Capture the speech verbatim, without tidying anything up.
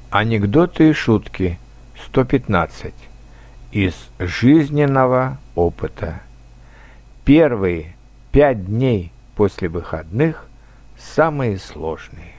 Анекдоты и шутки сто пятнадцать из жизненного опыта. Первые пять дней после выходных самые сложные.